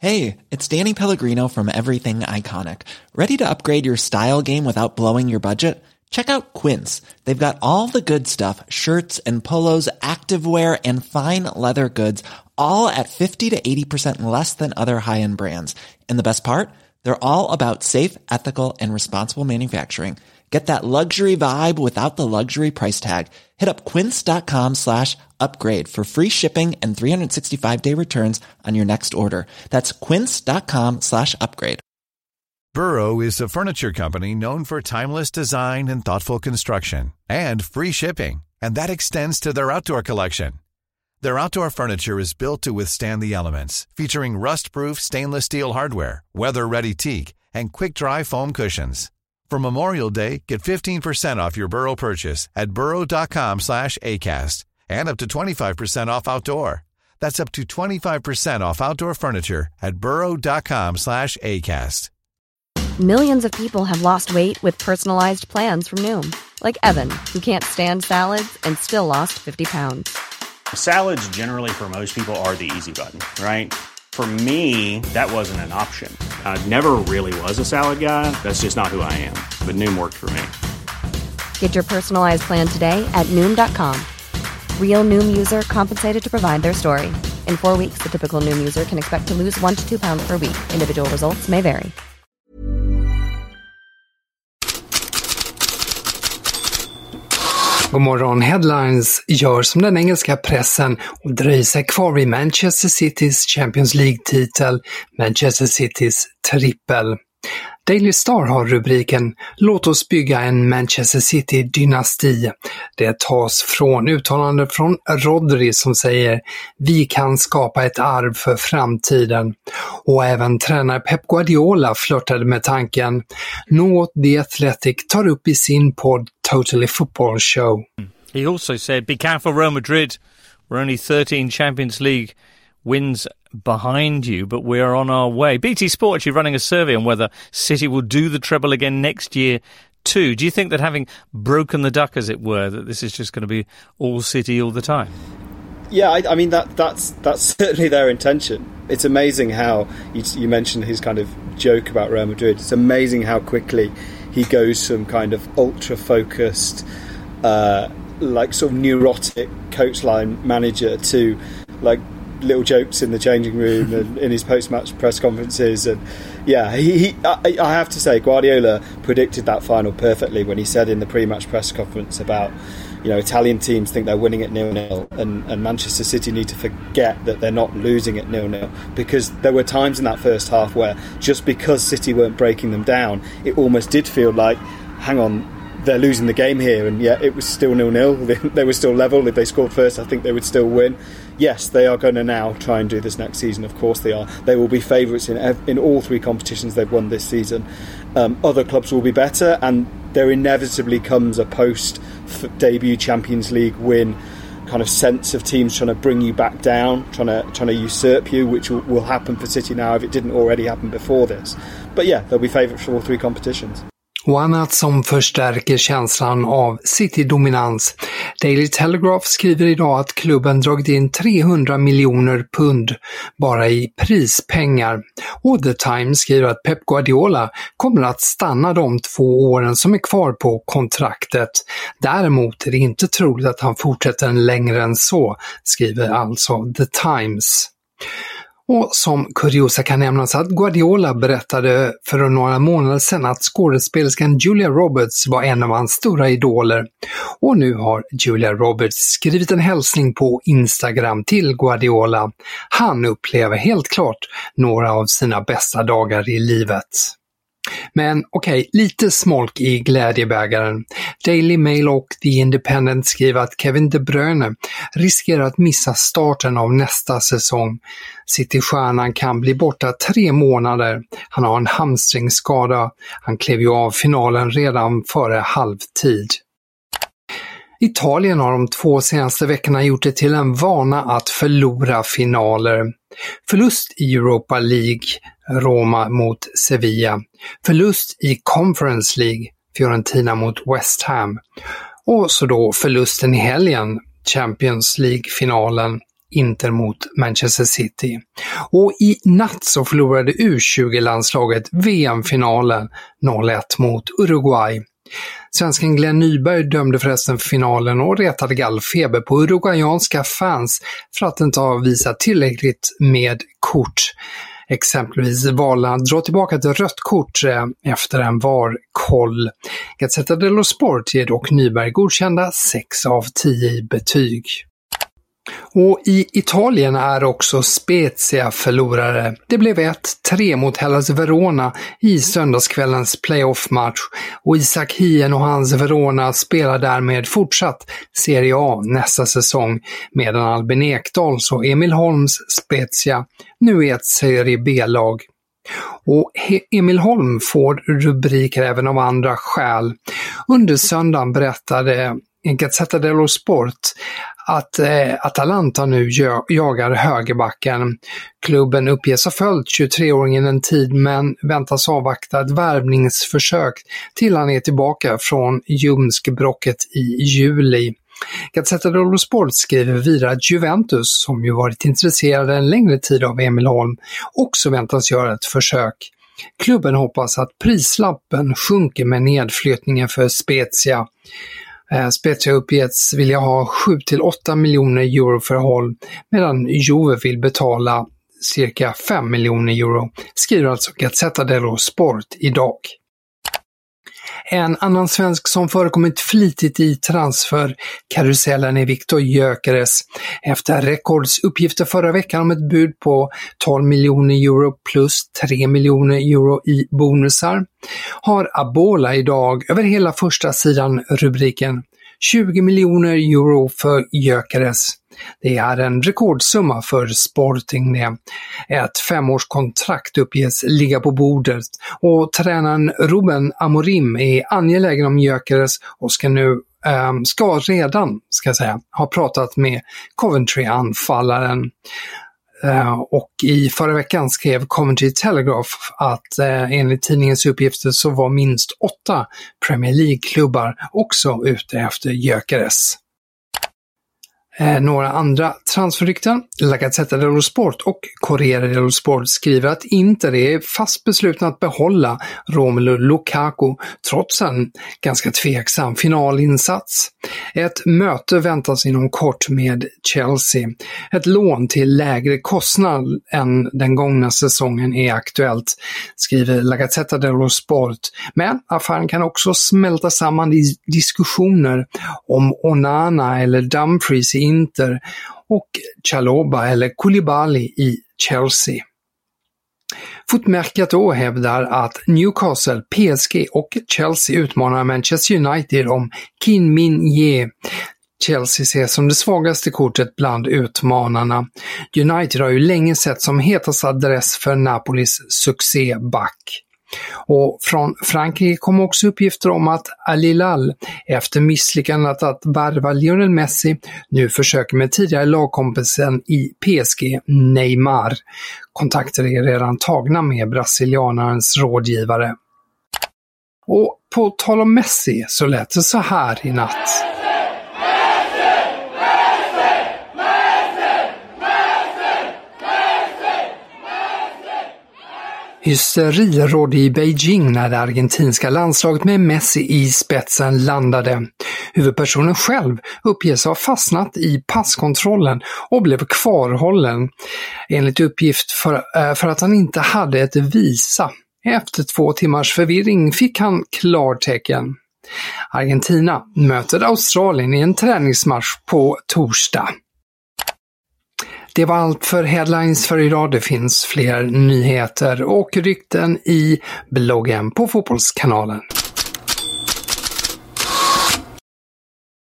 Hey, it's Danny Pellegrino from Everything Iconic. Ready to upgrade your style game without blowing your budget? Check out Quince. They've got all the good stuff, shirts and polos, activewear, and fine leather goods, all at 50 to 80% less than other high-end brands. And the best part? They're all about safe, ethical, and responsible manufacturing. Get that luxury vibe without the luxury price tag. Hit up quince.com/upgrade for free shipping and 365-day returns on your next order. That's quince.com/upgrade. Burrow is a furniture company known for timeless design and thoughtful construction and free shipping. And that extends to their outdoor collection. Their outdoor furniture is built to withstand the elements, featuring rust-proof stainless steel hardware, weather-ready teak, and quick-dry foam cushions. For Memorial Day, get 15% off your Burrow purchase at burrow.com/ACAST and up to 25% off outdoor. That's up to 25% off outdoor furniture at burrow.com/ACAST. Millions of people have lost weight with personalized plans from Noom. Like Evan, who can't stand salads and still lost 50 pounds. Salads generally for most people are the easy button, right? For me, that wasn't an option. I never really was a salad guy. That's just not who I am. But Noom worked for me. Get your personalized plan today at Noom.com. Real Noom user compensated to provide their story. In 4 weeks, the typical Noom user can expect to lose 1 to 2 pounds per week. Individual results may vary. God morgon, Headlines gör som den engelska pressen och dröjer sig kvar vid Manchester Citys Champions League-titel, Manchester Citys trippel. Daily Star har rubriken "Låt oss bygga en Manchester City-dynasti". Det tas från uttalande från Rodri som säger "Vi kan skapa ett arv för framtiden". Och även tränare Pep Guardiola flörtade med tanken, något The Athletic tar upp i sin podd Totally Football Show. He also said, be careful Real Madrid, we're only 13 Champions League wins behind you, but we are on our way. BT Sport actually running a survey on whether City will do the treble again next year too. Do you think that having broken the duck, as it were, that this is just going to be all City all the time? Yeah, I mean that's certainly their intention. It's amazing how you mentioned his kind of joke about Real Madrid. It's amazing how quickly he goes from kind of ultra focused, like sort of neurotic coach line manager to like little jokes in the changing room and in his post-match press conferences. And yeah, I have to say Guardiola predicted that final perfectly when he said in the pre-match press conference about, you know, Italian teams think they're winning at 0-0 and Manchester City need to forget that they're not losing at 0-0, because there were times in that first half where just because City weren't breaking them down, it almost did feel like, hang on, they're losing the game here, and yet it was still 0-0. They were still level. If they scored first, I think they would still win. Yes, they are going to now try and do this next season. Of course they are. They will be favourites in all three competitions they've won this season. Other clubs will be better, and there inevitably comes a post-debut Champions League win kind of sense of teams trying to bring you back down, trying to usurp you, which will happen for City now if it didn't already happen before this. But yeah, they'll be favourites for all three competitions. Och annat som förstärker känslan av City-dominans. Daily Telegraph skriver idag att klubben dragit in 300 miljoner pund bara i prispengar. Och The Times skriver att Pep Guardiola kommer att stanna de 2 åren som är kvar på kontraktet. Däremot är det inte troligt att han fortsätter längre än så, skriver alltså The Times. Och som kuriosa kan nämnas att Guardiola berättade för några månader sedan att skådespelerskan Julia Roberts var en av hans stora idoler. Och nu har Julia Roberts skrivit en hälsning på Instagram till Guardiola. Han upplever helt klart några av sina bästa dagar i livet. Men okej, lite smolk i glädjebägaren. Daily Mail och The Independent skriver att Kevin De Bruyne riskerar att missa starten av nästa säsong. City-stjärnan kan bli borta 3 månader. Han har en hamstringsskada. Han klev ju av finalen redan före halvtid. Italien har de 2 senaste veckorna gjort det till en vana att förlora finaler. Förlust i Europa League, Roma mot Sevilla. Förlust i Conference League, Fiorentina mot West Ham. Och så då förlusten i helgen, Champions League-finalen, Inter mot Manchester City. Och i natt så förlorade U20-landslaget VM-finalen 0-1 mot Uruguay. Svensken Glenn Nyberg dömde förresten för finalen och retade gallfeber på uruguayanska fans för att inte ha visat tillräckligt med kort. Exempelvis valde han att dra tillbaka ett rött kort efter en VAR-koll. Gazzetta dello Sport ger dock Nyberg godkända 6 av 10 i betyg. Och i Italien är också Spezia förlorare. Det blev 1-3 mot Hellas Verona i söndagskvällens playoff-match och Isak Hien och hans Verona spelar därmed fortsatt Serie A nästa säsong, medan Albin Ekdals och Emil Holms Spezia nu är ett Serie B-lag. Och Emil Holm får rubriker även av andra skäl. Under söndagen berättade Gazzetta dello Sport att Atalanta nu jagar högerbacken. Klubben uppges ha följt 23-åringen en tid men väntas avvakta ett värvningsförsök till han är tillbaka från ljumskbråcket i juli. Gazzetta dello Sport skriver vidare att Juventus, som ju varit intresserade en längre tid av Emil Holm, också väntas göra ett försök. Klubben hoppas att prislappen sjunker med nedflyttningen för Spezia. Spezia uppgetts vilja ha 7-8 miljoner euro för Holm, medan Juve vill betala cirka 5 miljoner euro, skriver alltså Gazzetta dello Sport idag. En annan svensk som förekommit flitigt i transferkarusellen är Viktor Gyökeres. Efter rekordsuppgifter förra veckan om ett bud på 12 miljoner euro plus 3 miljoner euro i bonusar har Abola idag över hela första sidan rubriken 20 miljoner euro för Gyökeres. Det är en rekordsumma för Sporting det. Ett 5-årskontrakt uppges ligga på bordet och tränaren Ruben Amorim är angelägen om Gyökeres och ska redan ha pratat med Coventry-anfallaren. Och i förra veckan skrev Coventry Telegraph att enligt tidningens uppgifter så var minst 8 Premier League-klubbar också ute efter Gyökeres. Några andra transferrykten. La Gazzetta dello Sport och Corriere dello Sport skriver att Inter är fast beslutna att behålla Romelu Lukaku trots en ganska tveksam finalinsats. Ett möte väntas inom kort med Chelsea. Ett lån till lägre kostnad än den gångna säsongen är aktuellt, skriver La Gazzetta dello Sport. Men affären kan också smälta samman i diskussioner om Onana eller Dumfries i Inter och Chalobah eller Koulibaly i Chelsea. Footmercato hävdar att Newcastle, PSG och Chelsea utmanar Manchester United om Kim Min-jae. Chelsea ses som det svagaste kortet bland utmanarna. United har ju länge sett som hetast adress för Napolis succéback. Och från Frankrike kom också uppgifter om att Al Hilal efter misslyckandet att värva Lionel Messi nu försöker med tidigare lagkompisen i PSG, Neymar. Kontakter är redan tagna med brasilianarens rådgivare. Och på tal om Messi så lät det så här i natt. Hysteri rådde i Beijing när det argentinska landslaget med Messi i spetsen landade. Huvudpersonen själv uppges ha fastnat i passkontrollen och blev kvarhållen, enligt uppgift för att han inte hade ett visa. Efter 2 timmars förvirring fick han klartecken. Argentina möter Australien i en träningsmatch på torsdag. Det var allt för Headlines för idag. Det finns fler nyheter och rykten i bloggen på Fotbollskanalen.